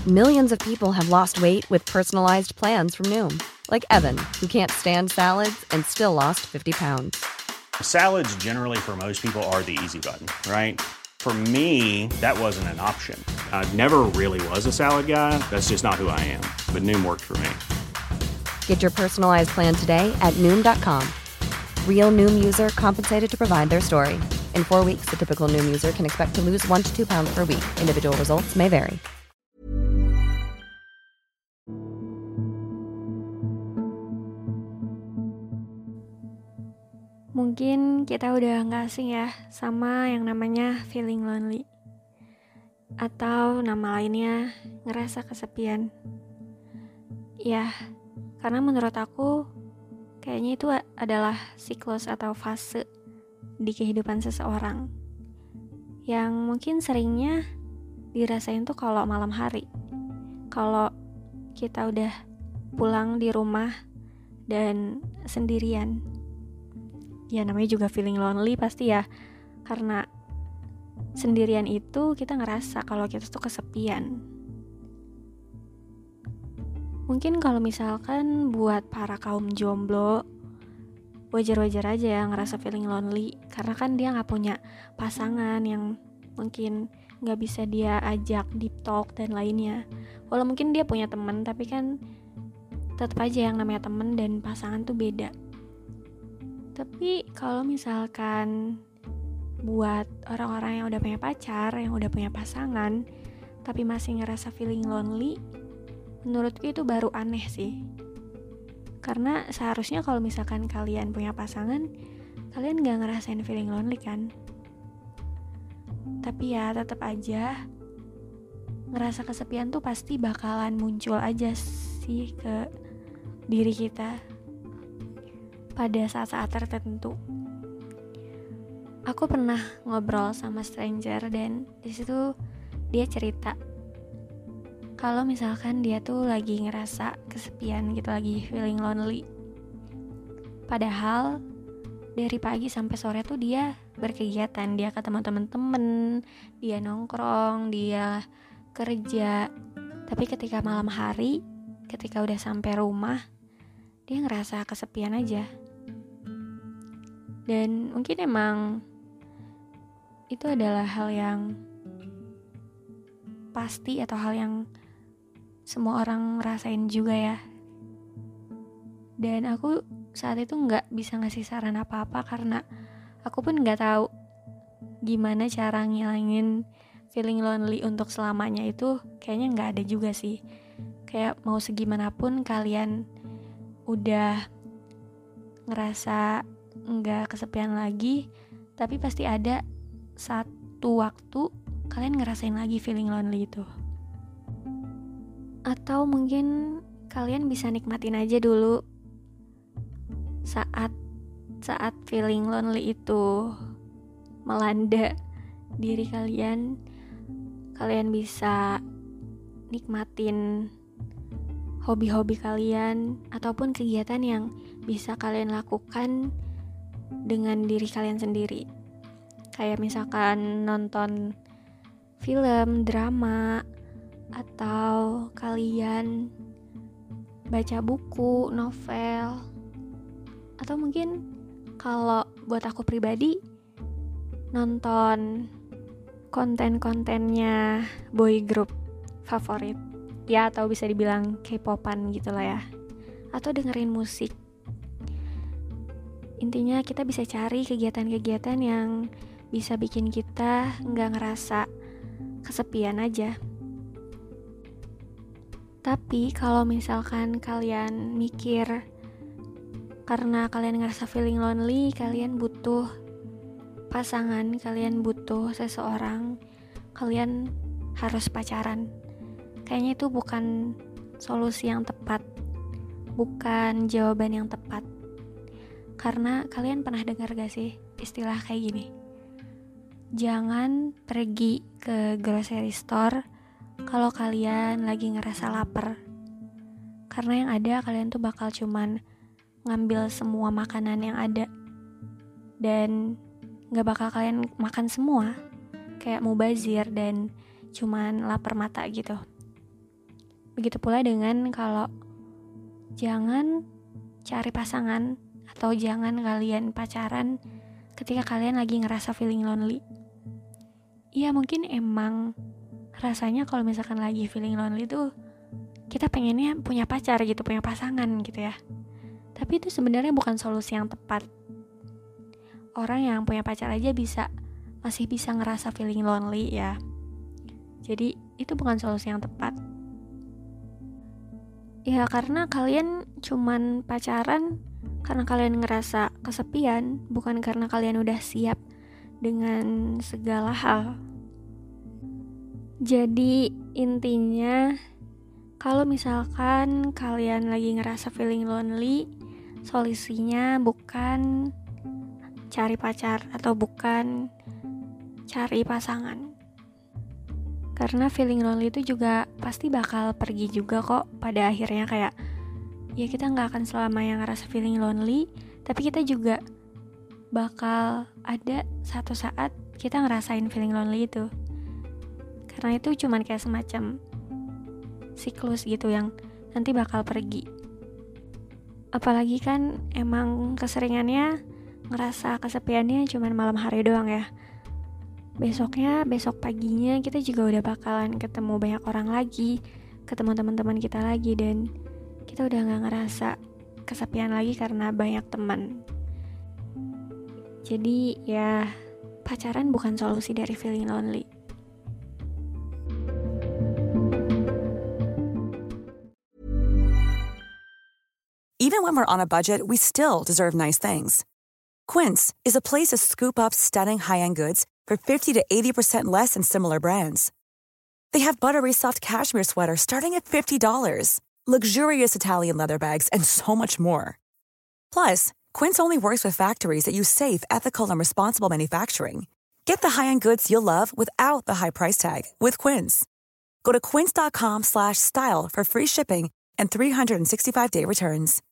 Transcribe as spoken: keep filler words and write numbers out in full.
Millions of people have lost weight with personalized plans from Noom, like Evan, who can't stand salads and still lost fifty pounds. Salads generally for most people are the easy button, right? For me, that wasn't an option. I never really was a salad guy. That's just not who I am. But Noom worked for me. Get your personalized plan today at Noom dot com. Real Noom user compensated to provide their story. In four weeks, the typical Noom user can expect to lose one to two pounds per week. Individual results may vary. Mungkin kita udah gak asing ya sama yang namanya feeling lonely. Atau nama lainnya ngerasa kesepian. Ya, karena menurut aku kayaknya itu adalah siklus atau fase di kehidupan seseorang yang mungkin seringnya dirasain tuh kalau malam hari. Kalau kita udah pulang di rumah dan sendirian. Ya namanya juga feeling lonely pasti ya. Karena sendirian itu kita ngerasa kalau kita tuh kesepian. Mungkin kalau misalkan buat para kaum jomblo, wajar-wajar aja ya ngerasa feeling lonely. Karena kan dia gak punya pasangan yang mungkin gak bisa dia ajak deep talk dan lainnya. Walau mungkin dia punya teman, tapi kan tetap aja yang namanya teman dan pasangan tuh beda. Tapi kalau misalkan buat orang-orang yang udah punya pacar, yang udah punya pasangan, tapi masih ngerasa feeling lonely, menurutku itu baru aneh sih. Karena seharusnya kalau misalkan kalian punya pasangan, kalian gak ngerasain feeling lonely kan? Tapi ya tetap aja, ngerasa kesepian tuh pasti bakalan muncul aja sih ke diri kita pada saat-saat tertentu. Aku pernah ngobrol sama stranger dan di situ dia cerita kalau misalkan dia tuh lagi ngerasa kesepian gitu, lagi feeling lonely. Padahal dari pagi sampai sore tuh dia berkegiatan, dia ketemu temen-temen, dia nongkrong, dia kerja. Tapi ketika malam hari, ketika udah sampai rumah, dia ngerasa kesepian aja. Dan mungkin emang itu adalah hal yang pasti atau hal yang semua orang rasain juga ya. Dan aku saat itu gak bisa ngasih saran apa-apa karena aku pun gak tahu gimana cara ngilangin feeling lonely untuk selamanya. Itu kayaknya gak ada juga sih. Kayak mau segimanapun kalian udah ngerasa nggak kesepian lagi, tapi pasti ada satu waktu kalian ngerasain lagi feeling lonely itu. Atau mungkin kalian bisa nikmatin aja dulu saat saat feeling lonely itu melanda diri kalian. Kalian bisa nikmatin hobi-hobi kalian ataupun kegiatan yang bisa kalian lakukan dengan diri kalian sendiri. Kayak misalkan nonton film, drama, atau kalian baca buku, novel. Atau mungkin kalau buat aku pribadi nonton konten-kontennya boy group favorit. Ya atau bisa dibilang K-popan gitu lah ya. Atau dengerin musik. Intinya kita bisa cari kegiatan-kegiatan yang bisa bikin kita gak ngerasa kesepian aja. Tapi kalau misalkan kalian mikir karena kalian ngerasa feeling lonely, kalian butuh pasangan, kalian butuh seseorang, kalian harus pacaran. Kayaknya itu bukan solusi yang tepat, bukan jawaban yang tepat. Karena kalian pernah dengar gak sih istilah kayak gini? Jangan pergi ke grocery store kalau kalian lagi ngerasa lapar. Karena yang ada kalian tuh bakal cuman ngambil semua makanan yang ada. Dan gak bakal kalian makan semua. Kayak mubazir dan cuman lapar mata gitu. Begitu pula dengan kalau jangan cari pasangan atau jangan kalian pacaran ketika kalian lagi ngerasa feeling lonely. Iya, mungkin emang rasanya kalau misalkan lagi feeling lonely tuh kita pengennya punya pacar gitu, punya pasangan gitu ya. Tapi itu sebenarnya bukan solusi yang tepat. Orang yang punya pacar aja bisa masih bisa ngerasa feeling lonely ya. Jadi itu bukan solusi yang tepat. Ya karena kalian cuman pacaran karena kalian ngerasa kesepian, bukan karena kalian udah siap dengan segala hal. Jadi intinya, kalau misalkan kalian lagi ngerasa feeling lonely, solusinya bukan cari pacar atau bukan cari pasangan. Karena feeling lonely itu juga pasti bakal pergi juga kok pada akhirnya. Kayak ya kita gak akan selamanya ngerasa feeling lonely, tapi kita juga bakal ada satu saat kita ngerasain feeling lonely itu. Karena itu cuman kayak semacam siklus gitu yang nanti bakal pergi. Apalagi kan emang keseringannya ngerasa kesepiannya cuman malam hari doang ya. Besoknya, besok paginya kita juga udah bakalan ketemu banyak orang lagi, ketemu teman-teman kita lagi, dan kita udah gak ngerasa kesepian lagi karena banyak teman. Jadi ya pacaran bukan solusi dari feeling lonely. Even when we're on a budget, we still deserve nice things. Quince is a place to scoop up stunning high-end goods for fifty to eighty percent less than similar brands. They have buttery soft cashmere sweaters starting at fifty dollars, luxurious Italian leather bags, and so much more. Plus, Quince only works with factories that use safe, ethical, and responsible manufacturing. Get the high-end goods you'll love without the high price tag with Quince. Go to quince.com slash style for free shipping and three sixty-five day returns.